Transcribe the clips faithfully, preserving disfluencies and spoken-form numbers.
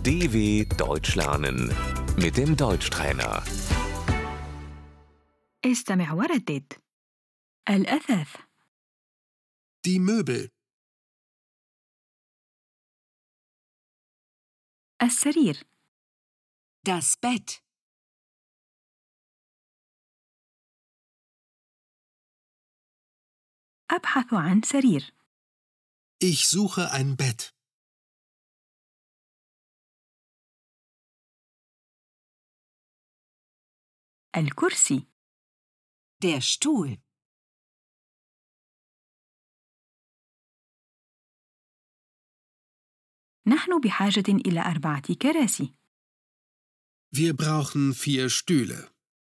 D W Deutsch lernen mit dem Deutschtrainer. استمع وردد. الأثاث. Die Möbel. السرير. Das Bett. أبحث عن سرير. Ich suche ein Bett. الكرسي. Der Stuhl. نحن بحاجة إلى أربعة كراسي. Wir brauchen vier Stühle.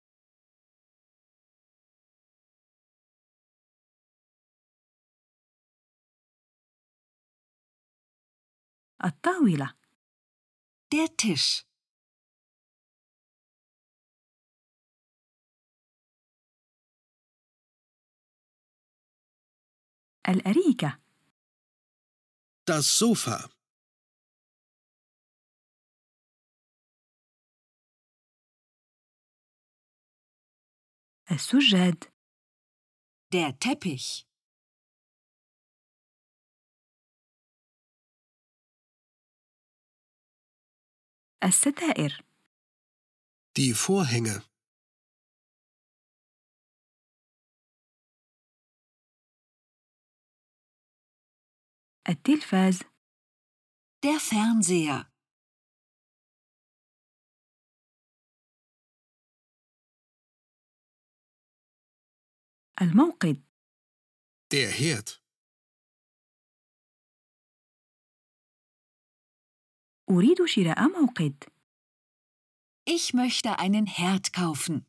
الطاولة. Der Tisch. الأريكة. Das Sofa. السجاد. Der Teppich. الستائر. Die Vorhänge. التلفاز. Der Fernseher. الموقد. Der Herd. أريد شراء موقد. Ich möchte einen Herd kaufen.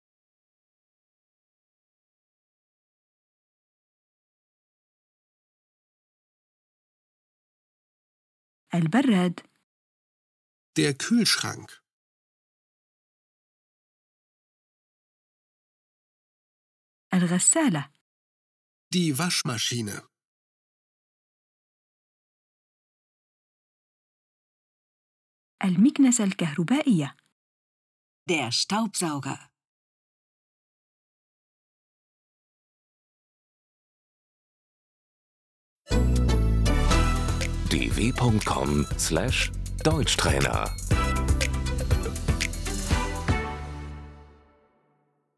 البراد. Der Kühlschrank. الغسالة. Die Waschmaschine. المكنسة الكهربائية. Der Staubsauger. d w punkt com slash Deutschtrainer